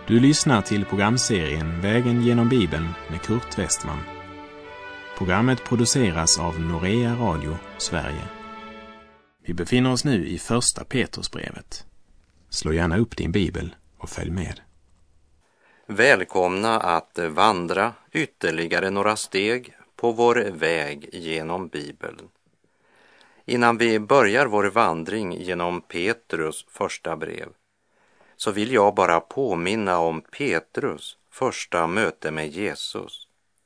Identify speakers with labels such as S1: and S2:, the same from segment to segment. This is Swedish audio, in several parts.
S1: Du lyssnar till programserien Vägen genom Bibeln med Kurt Westman. Programmet produceras av Norea Radio, Sverige. Vi befinner oss nu i första Petrusbrevet. Slå gärna upp din bibel och följ med.
S2: Välkomna att vandra ytterligare några steg på vår väg genom Bibeln. Innan vi börjar vår vandring genom Petrus första brev så vill jag bara påminna om Petrus första möte med Jesus.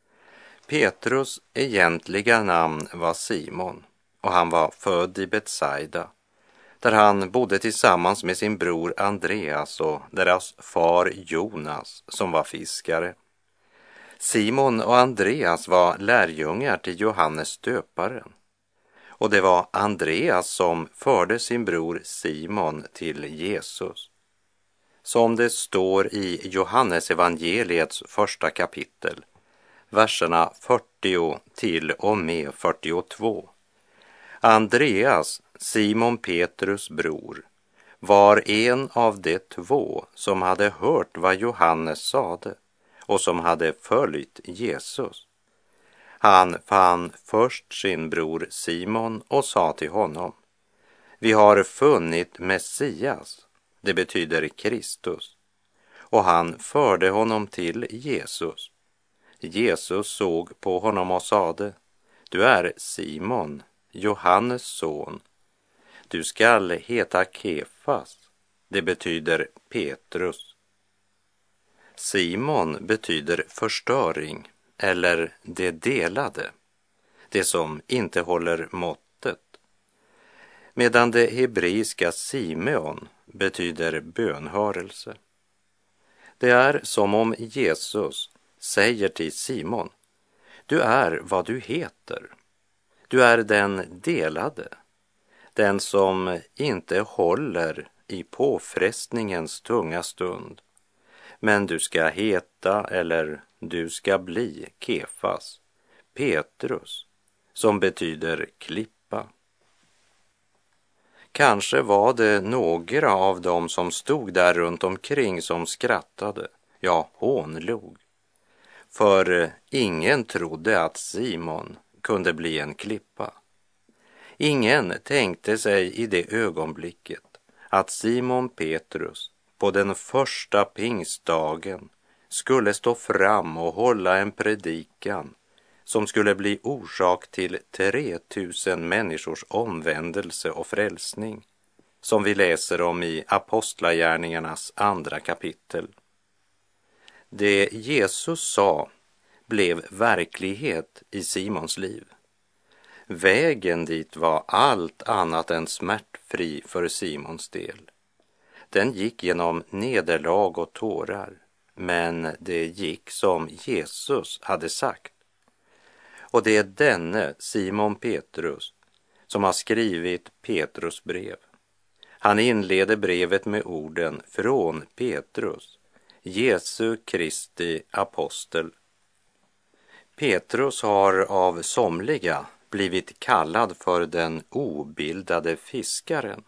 S2: Petrus egentliga namn var Simon och han var född i Betsaida, där han bodde tillsammans med sin bror Andreas och deras far Jonas som var fiskare. Simon och Andreas var lärjungar till Johannes döparen. Och det var Andreas som förde sin bror Simon till Jesus. Som det står i Johannes evangeliets första kapitel, verserna 40 till och med 42. Andreas, Simon Petrus bror, var en av de två som hade hört vad Johannes sade och som hade följt Jesus. Han fann först sin bror Simon och sa till honom: vi har funnit Messias, det betyder Kristus. Och han förde honom till Jesus. Jesus såg på honom och sade: du är Simon, Johannes son. Du skall heta Kefas, det betyder Petrus. Simon betyder förstöring eller det delade, det som inte håller måttet. Medan det hebreiska Simeon betyder bönhörelse. Det är som om Jesus säger till Simon: du är vad du heter. Du är den delade, den som inte håller i påfrestningens tunga stund. Men du ska heta, eller du ska bli Kefas, Petrus, som betyder klippa. Kanske var det några av dem som stod där runt omkring som skrattade, ja, hånlog. För ingen trodde att Simon kunde bli en klippa. Ingen tänkte sig i det ögonblicket att Simon Petrus på den första pingstdagen skulle stå fram och hålla en predikan som skulle bli orsak till 3000 människors omvändelse och frälsning, som vi läser om i Apostlagärningarnas andra kapitel. Det Jesus sa blev verklighet i Simons liv. Vägen dit var allt annat än smärtfri för Simons del. Den gick genom nederlag och tårar, men det gick som Jesus hade sagt. Och det är denne Simon Petrus som har skrivit Petrus brev. Han inleder brevet med orden från Petrus, Jesu Kristi apostel. Petrus har av somliga blivit kallad för den obildade fiskaren.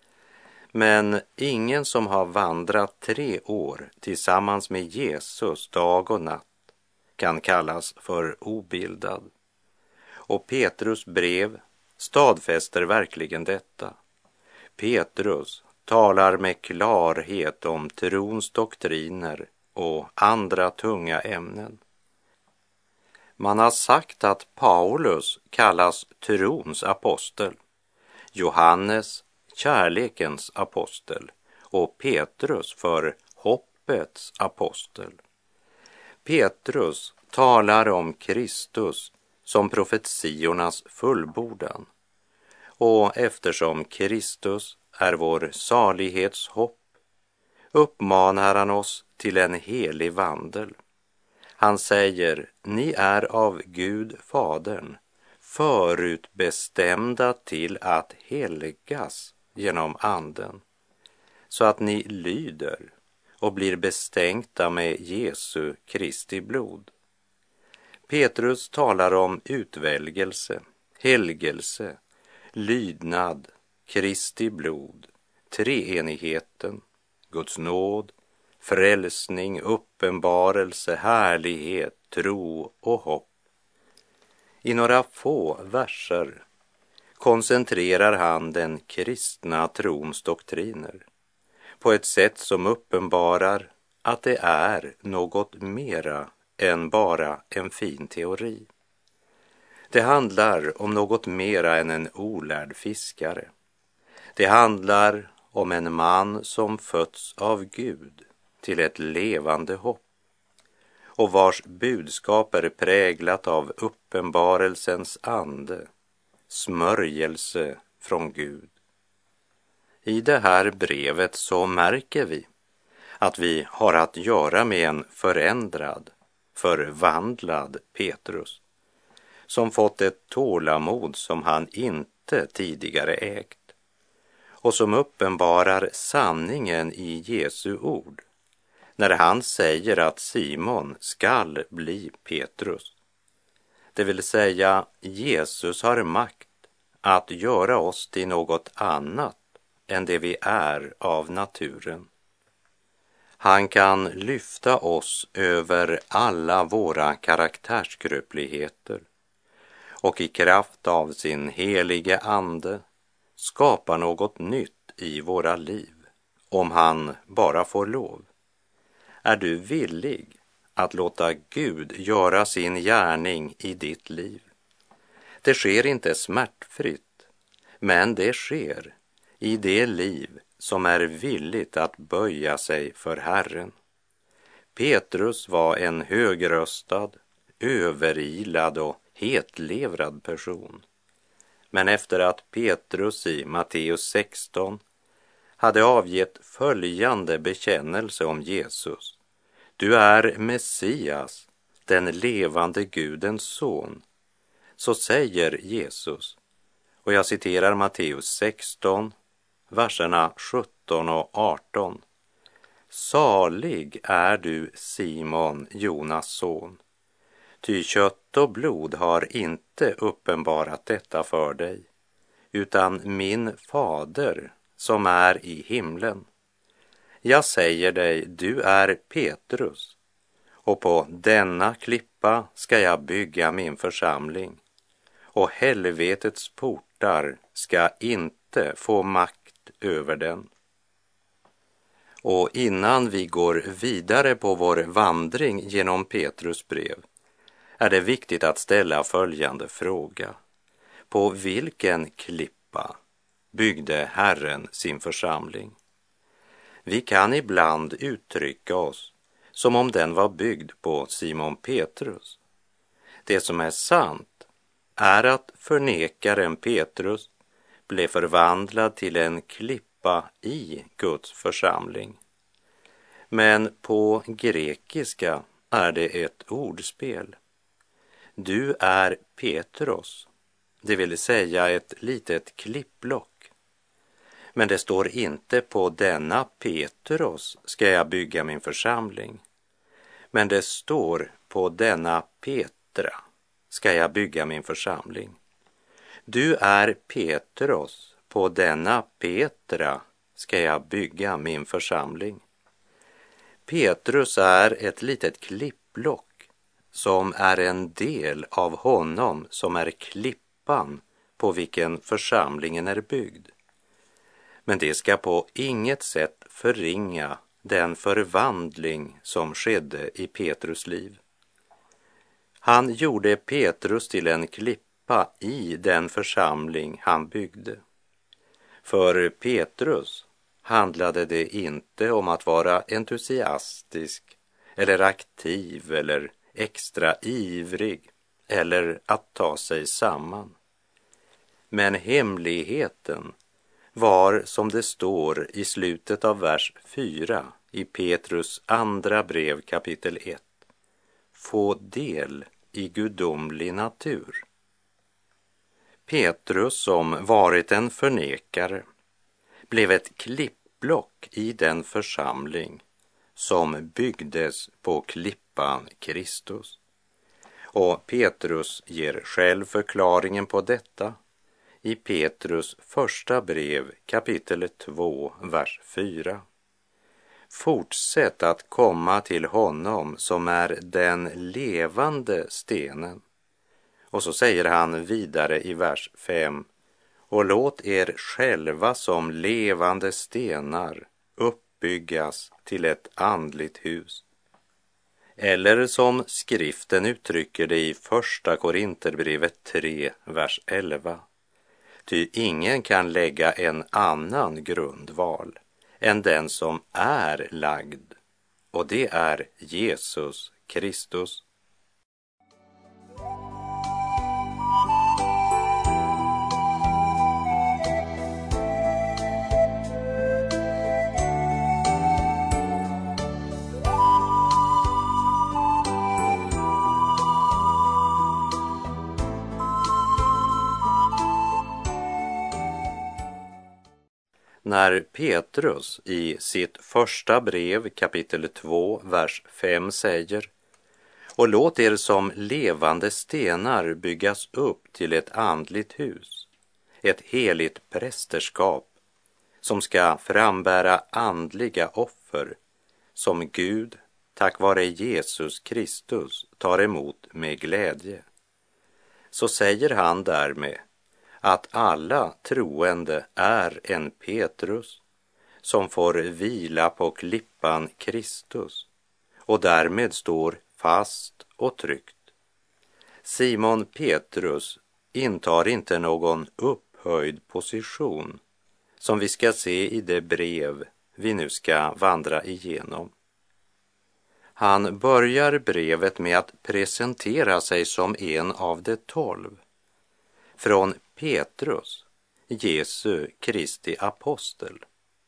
S2: Men ingen som har vandrat 3 år tillsammans med Jesus dag och natt kan kallas för obildad. Och Petrus brev stadfäster verkligen detta. Petrus talar med klarhet om trons doktriner och andra tunga ämnen. Man har sagt att Paulus kallas trons apostel, Johannes kärlekens apostel och Petrus för hoppets apostel. Petrus talar om Kristus som profetiornas fullbordan. Och eftersom Kristus är vår salighetshopp uppmanar han oss till en helig vandel. Han säger: ni är av Gud Fadern förutbestämda till att helgas genom anden, så att ni lyder och blir bestänkta med Jesu Kristi blod. Petrus talar om utvälgelse, helgelse, lydnad, Kristi blod, treenigheten, Guds nåd, frälsning, uppenbarelse, härlighet, tro och hopp. I några få verser koncentrerar han den kristna trons doktriner på ett sätt som uppenbarar att det är något mera än bara en fin teori. Det handlar om något mera än en olärd fiskare. Det handlar om en man som fötts av Gud till ett levande hopp och vars budskap är präglat av uppenbarelsens ande, smörjelse från Gud. I det här brevet så märker vi att vi har att göra med en förändrad, förvandlad Petrus som fått ett tålamod som han inte tidigare ägt och som uppenbarar sanningen i Jesu ord när han säger att Simon skall bli Petrus. Det vill säga, Jesus har makt att göra oss till något annat än det vi är av naturen. Han kan lyfta oss över alla våra karaktärsgrupligheter och i kraft av sin helige ande skapa något nytt i våra liv, om han bara får lov. Är du villig att låta Gud göra sin gärning i ditt liv? Det sker inte smärtfritt, men det sker i det liv som är villigt att böja sig för Herren. Petrus var en högröstad, överilad och hetlevrad person. Men efter att Petrus i Matteus 16 hade avgett följande bekännelse om Jesus: Du är Messias, den levande Gudens son. Så säger Jesus, och jag citerar Matteus 16, verserna 17 och 18. Salig är du, Simon, Jonas son, ty kött och blod har inte uppenbarat detta för dig, utan min fader som är i himlen. Jag säger dig, du är Petrus, och på denna klippa ska jag bygga min församling, och helvetets portar ska inte få makt över den. Och innan vi går vidare på vår vandring genom Petrus brev är det viktigt att ställa följande fråga. På vilken klippa byggde Herren sin församling? Vi kan ibland uttrycka oss som om den var byggd på Simon Petrus. Det som är sant är att förnekaren Petrus blev förvandlad till en klippa i Guds församling. Men på grekiska är det ett ordspel. Du är Petros, det vill säga ett litet klippblock. Men det står inte på denna Petros ska jag bygga min församling. Men det står på denna Petra ska jag bygga min församling. Du är Petros, på denna Petra ska jag bygga min församling. Petrus är ett litet klippblock som är en del av honom som är klippan på vilken församlingen är byggd. Men det ska på inget sätt förringa den förvandling som skedde i Petrus liv. Han gjorde Petrus till en klippa i den församling han byggde. För Petrus handlade det inte om att vara entusiastisk eller aktiv eller extra ivrig eller att ta sig samman. Men hemligheten var, som det står i slutet av vers 4 i Petrus andra brev kapitel 1, få del i gudomlig natur. Petrus, som varit en förnekare, blev ett klippblock i den församling som byggdes på klippan Kristus. Och Petrus ger själv förklaringen på detta i Petrus första brev kapitel 2, vers 4. Fortsätt att komma till honom som är den levande stenen. Och så säger han vidare i vers 5: och låt er själva som levande stenar uppbyggas till ett andligt hus. Eller som skriften uttrycker det i första Korinterbrevet 3, vers 11. Ty ingen kan lägga en annan grundval än den som är lagd, och det är Jesus Kristus. När Petrus i sitt första brev kapitel 2, vers 5 säger: och låt er som levande stenar byggas upp till ett andligt hus, ett heligt prästerskap som ska frambära andliga offer som Gud tack vare Jesus Kristus tar emot med glädje. Så säger han därmed att alla troende är en Petrus som får vila på klippan Kristus och därmed står fast och tryggt. Simon Petrus intar inte någon upphöjd position som vi ska se i det brev vi nu ska vandra igenom. Han börjar brevet med att presentera sig som en av de 12. Från Petrus, Jesu Kristi apostel.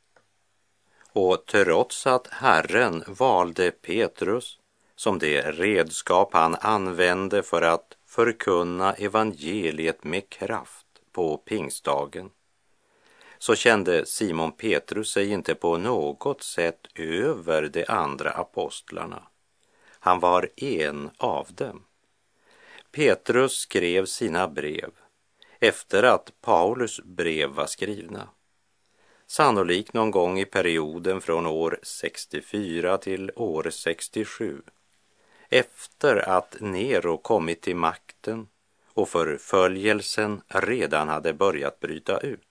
S2: Och trots att Herren valde Petrus som det redskap han använde för att förkunna evangeliet med kraft på pingstdagen, så kände Simon Petrus sig inte på något sätt över de andra apostlarna. Han var en av dem. Petrus skrev sina brev efter att Paulus brev var skrivna. Sannolikt någon gång i perioden från år 64 till år 67. Efter att Nero kommit till makten och förföljelsen redan hade börjat bryta ut.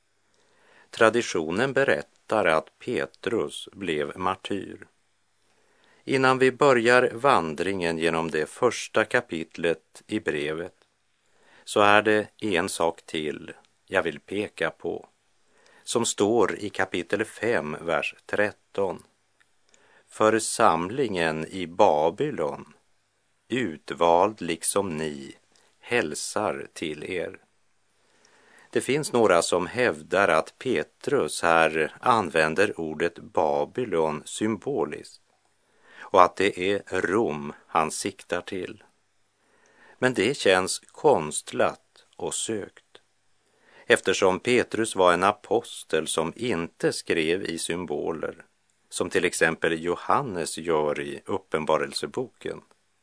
S2: Traditionen berättar att Petrus blev martyr. Innan vi börjar vandringen genom det första kapitlet i brevet så är det en sak till jag vill peka på som står i kapitel 5, vers 13. Församlingen i Babylon, utvald liksom ni, hälsar till er. Det finns några som hävdar att Petrus här använder ordet Babylon symboliskt och att det är Rom han siktar till. Men det känns konstlat och sökt, eftersom Petrus var en apostel som inte skrev i symboler, som till exempel Johannes gör i Uppenbarelseboken.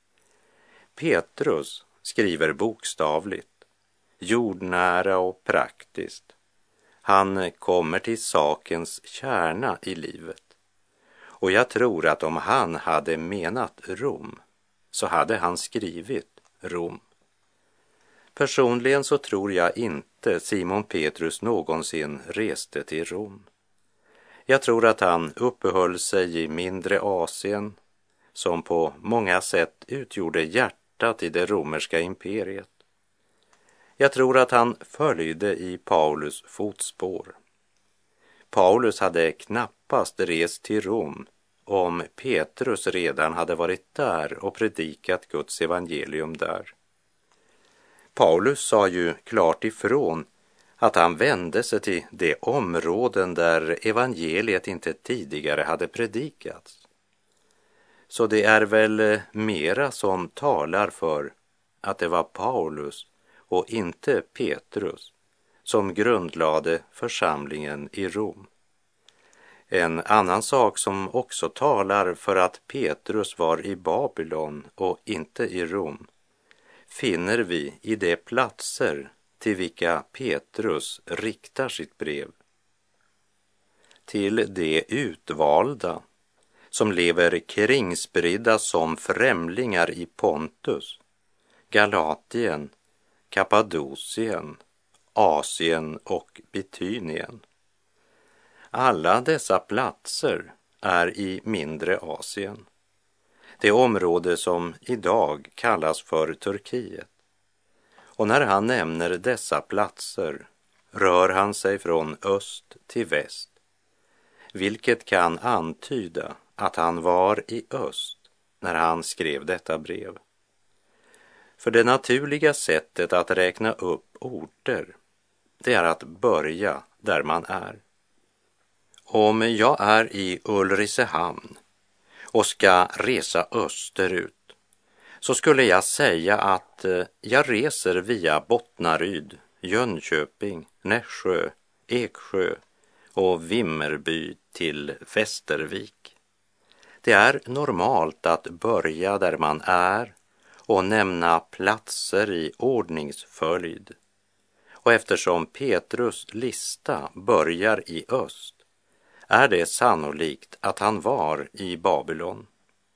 S2: Petrus skriver bokstavligt, jordnära och praktiskt. Han kommer till sakens kärna i livet. Och jag tror att om han hade menat Rom så hade han skrivit Rom. Personligen så tror jag inte Simon Petrus någonsin reste till Rom. Jag tror att han uppehöll sig i mindre Asien som på många sätt utgjorde hjärtat i det romerska imperiet. Jag tror att han följde i Paulus fotspår. Paulus hade knappast rest till Rom om Petrus redan hade varit där och predikat Guds evangelium där. Paulus sa ju klart ifrån att han vände sig till de områden där evangeliet inte tidigare hade predikats. Så det är väl mera som talar för att det var Paulus och inte Petrus som grundlade församlingen i Rom. En annan sak som också talar för att Petrus var i Babylon och inte i Rom finner vi i de platser till vilka Petrus riktar sitt brev. Till de utvalda som lever kringspridda som främlingar i Pontus, Galatien, Kappadokien, Asien och Bitynien. Alla dessa platser är i mindre Asien, det område som idag kallas för Turkiet. Och när han nämner dessa platser rör han sig från öst till väst, vilket kan antyda att han var i öst när han skrev detta brev. För det naturliga sättet att räkna upp orter, det är att börja där man är. Om jag är i Ulricehamn och ska resa österut, så skulle jag säga att jag reser via Bottnaryd, Jönköping, Nässjö, Eksjö och Vimmerby till Västervik. Det är normalt att börja där man är och nämna platser i ordningsföljd. Och eftersom Petrus lista börjar i öst, är det sannolikt att han var i Babylon.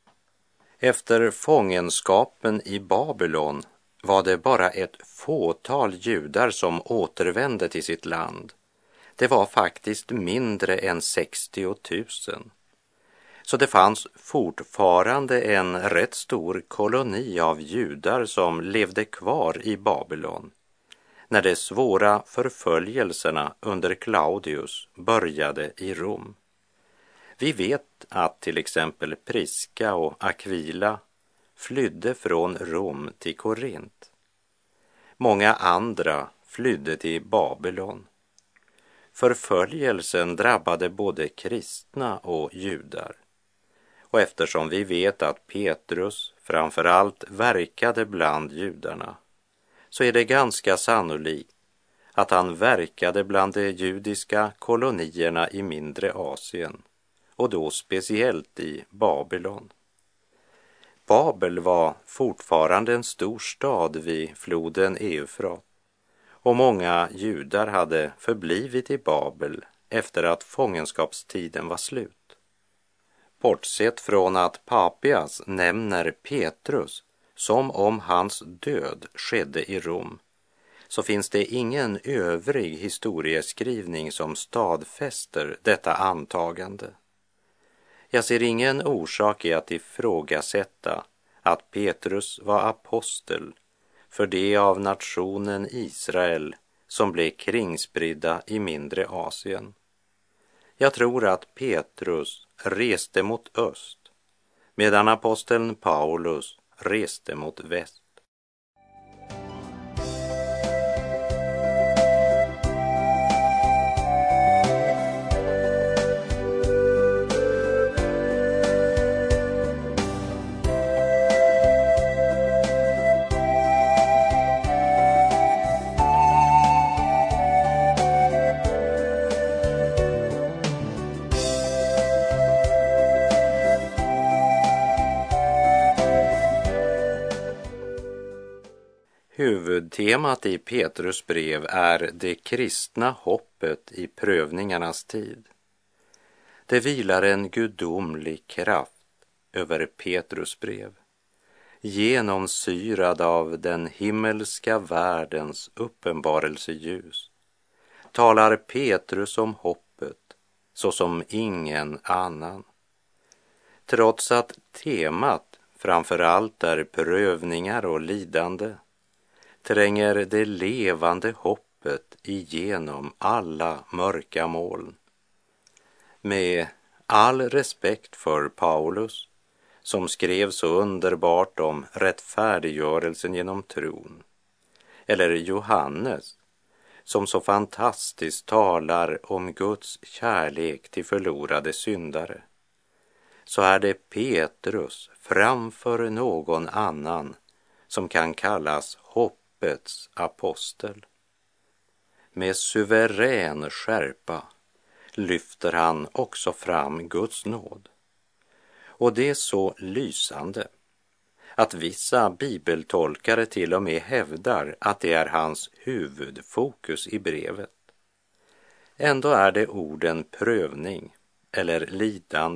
S2: Efter fångenskapen i Babylon var det bara ett fåtal judar som återvände till sitt land. Det var faktiskt mindre än 60 000. Så det fanns fortfarande en rätt stor koloni av judar som levde kvar i Babylon när de svåra förföljelserna under Claudius började i Rom. Vi vet att till exempel Priska och Aquila flydde från Rom till Korint. Många andra flydde till Babylon. Förföljelsen drabbade både kristna och judar. Och eftersom vi vet att Petrus framför allt verkade bland judarna, så är det ganska sannolikt att han verkade bland de judiska kolonierna i mindre Asien, och då speciellt i Babylon. Babel var fortfarande en stor stad vid floden Eufrat, och många judar hade förblivit i Babel efter att fångenskapstiden var slut. Bortsett från att Papias nämner Petrus som om hans död skedde i Rom, så finns det ingen övrig historieskrivning som stadfäster detta antagande. Jag ser ingen orsak i att ifrågasätta att Petrus var apostel för det av nationen Israel som blev kringspridda i mindre Asien. Jag tror att Petrus reste mot öst, medan aposteln Paulus reste mot väst. Huvudtemat i Petrus brev är det kristna hoppet i prövningarnas tid. Det vilar en gudomlig kraft över Petrus brev, genomsyrad av den himmelska världens uppenbarelseljus. Talar Petrus om hoppet såsom ingen annan. Trots att temat framför allt är prövningar och lidande, tränger det levande hoppet igenom alla mörka moln. Med all respekt för Paulus, som skrev så underbart om rättfärdiggörelsen genom tron, eller Johannes, som så fantastiskt talar om Guds kärlek till förlorade syndare, så är det Petrus framför någon annan som kan kallas hoppets apostel. Med suverän skärpa lyfter han också fram Guds nåd. Och det är så lysande att vissa bibeltolkare till och med hävdar att det är hans huvudfokus i brevet. Ändå är det orden prövning eller lidande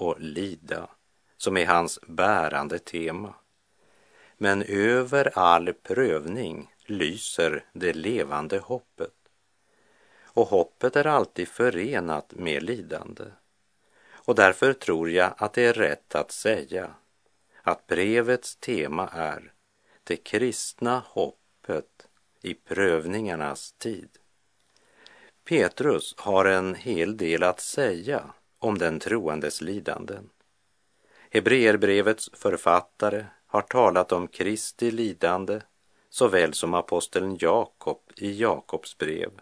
S2: och lida som är hans bärande tema. Men över all prövning lyser det levande hoppet. Och hoppet är alltid förenat med lidande. Och därför tror jag att det är rätt att säga att brevets tema är det kristna hoppet i prövningarnas tid. Petrus har en hel del att säga om den troendes lidanden. Hebreerbrevets författare har talat om Kristi lidande såväl som aposteln Jakob i Jakobs brev.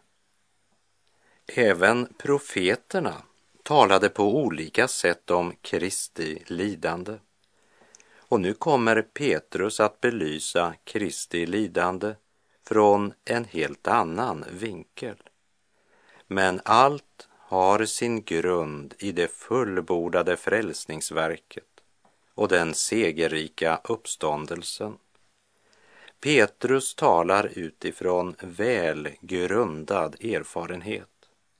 S2: Även profeterna talade på olika sätt om Kristi lidande. Och nu kommer Petrus att belysa Kristi lidande från en helt annan vinkel. Men allt har sin grund i det fullbordade frälsningsverket och den segerrika uppståndelsen. Petrus talar utifrån väl grundad erfarenhet.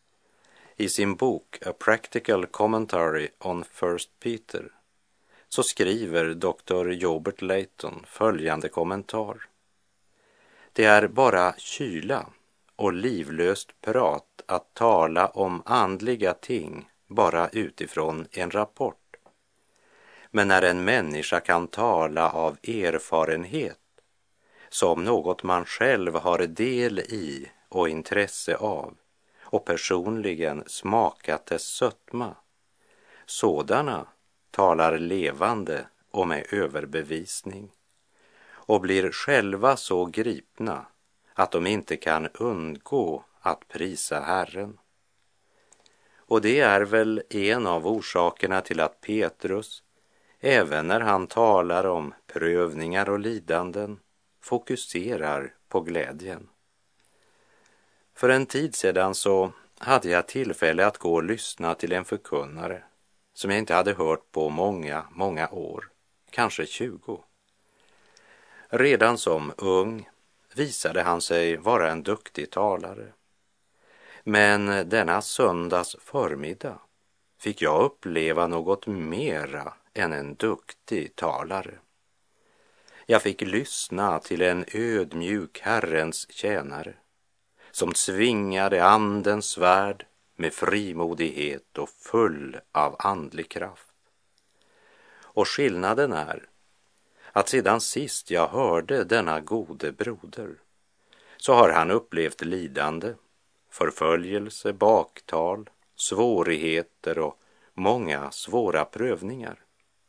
S2: I sin bok A Practical Commentary on First Peter så skriver Dr. Jobert Layton följande kommentar. Det är bara kyla och livlöst prat att tala om andliga ting bara utifrån en rapport. Men när en människa kan tala av erfarenhet, som något man själv har del i och intresse av, och personligen smakat dess sötma, sådana talar levande och med överbevisning och blir själva så gripna att de inte kan undgå att prisa Herren. Och det är väl en av orsakerna till att Petrus, även när han talar om prövningar och lidanden, fokuserar på glädjen. För en tid sedan så hade jag tillfälle att gå och lyssna till en förkunnare som jag inte hade hört på många år, kanske 20. Redan som ung visade han sig vara en duktig talare. Men denna söndags förmiddag fick jag uppleva något mera än en duktig talare. Jag fick lyssna till en ödmjuk Herrens tjänare som svingade andens svärd med frimodighet och full av andlig kraft. Och skillnaden är att sedan sist jag hörde denna gode broder så har han upplevt lidande, förföljelse, baktal, svårigheter och många svåra prövningar.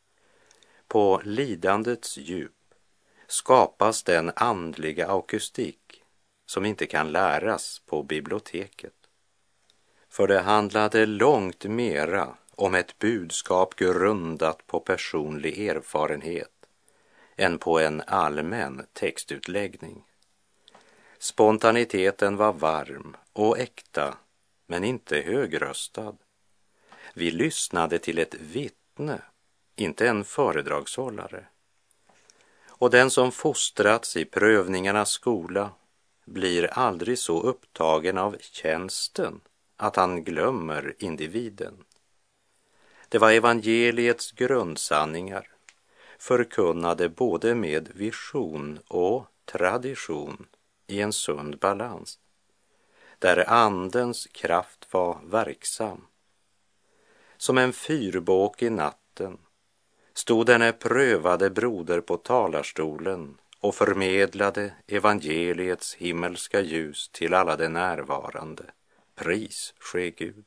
S2: På lidandets djup skapas den andliga akustik som inte kan läras på biblioteket. För det handlade långt mera om ett budskap grundat på personlig erfarenhet än på en allmän textutläggning. Spontaniteten var varm och äkta, men inte högröstad. Vi lyssnade till ett vittne, inte en föredragshållare. Och den som fostrats i prövningarnas skola blir aldrig så upptagen av tjänsten att han glömmer individen. Det var evangeliets grundsanningar, förkunnade både med vision och tradition i en sund balans, där andens kraft var verksam. Som en fyrbåk i natten stod denne prövade broder på talarstolen och förmedlade evangeliets himmelska ljus till alla de närvarande. Pris ske Gud.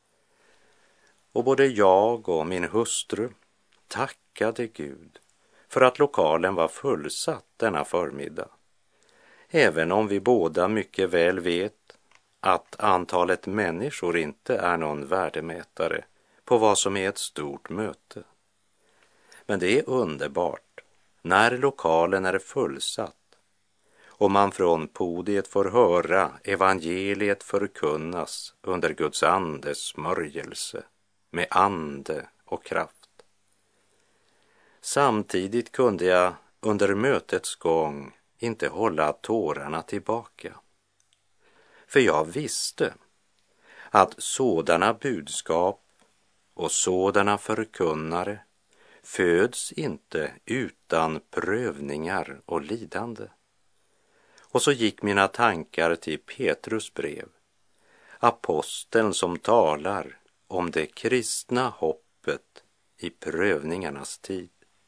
S2: Och både jag och min hustru tackade Gud för att lokalen var fullsatt denna förmiddag. Även om vi båda mycket väl vet att antalet människor inte är någon värdemätare på vad som är ett stort möte. Men det är underbart när lokalen är fullsatt och man från podiet får höra evangeliet förkunnas under Guds andes smörjelse med ande och kraft. Samtidigt kunde jag under mötets gång inte hålla tårarna tillbaka. För jag visste att sådana budskap och sådana förkunnare föds inte utan prövningar och lidande. Och så gick mina tankar till Petrus brev, aposteln som talar om det kristna hoppet i prövningarnas tid.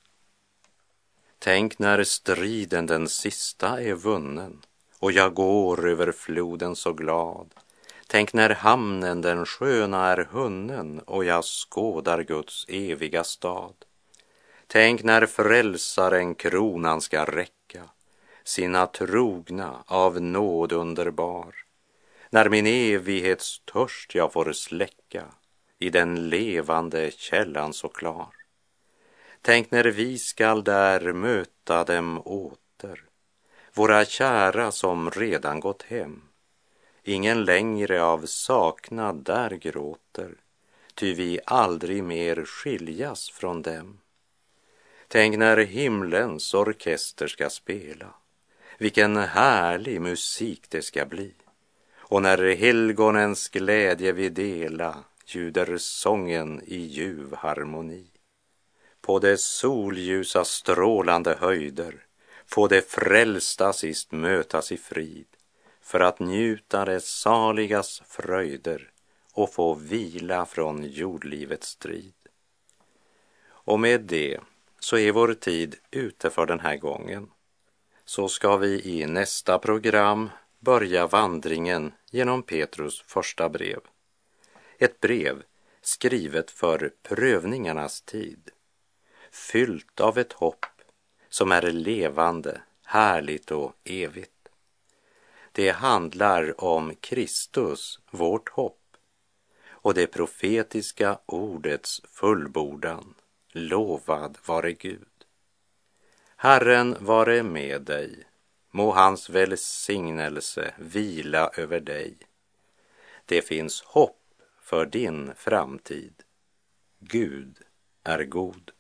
S2: Tänk när striden den sista är vunnen och jag går över floden så glad. Tänk när hamnen den sköna är hunnen och jag skådar Guds eviga stad. Tänk när frälsaren kronan ska räcka sina trogna av nåd underbar. När min evighetstörst jag får släcka i den levande källan så klar. Tänk när vi skall där möta dem åter, våra kära som redan gått hem. Ingen längre av saknad där gråter, ty vi aldrig mer skiljas från dem. Tänk när himlens orkester ska spela, vilken härlig musik det ska bli. Och när helgonens glädje vi dela, ljuder sången i ljuv harmoni. På det solljusa strålande höjder får det frälsta sist mötas i frid, för att njuta det saligas fröjder och få vila från jordlivets strid. Och med det så är vår tid ute för den här gången. Så ska vi i nästa program börja vandringen genom Petrus första brev. Ett brev skrivet för prövningarnas tid, fyllt av ett hopp som är levande, härligt och evigt. Det handlar om Kristus, vårt hopp, och det profetiska ordets fullbordan. Lovad vare Gud. Herren vare med dig. Må hans välsignelse vila över dig. Det finns hopp för din framtid. Gud är god.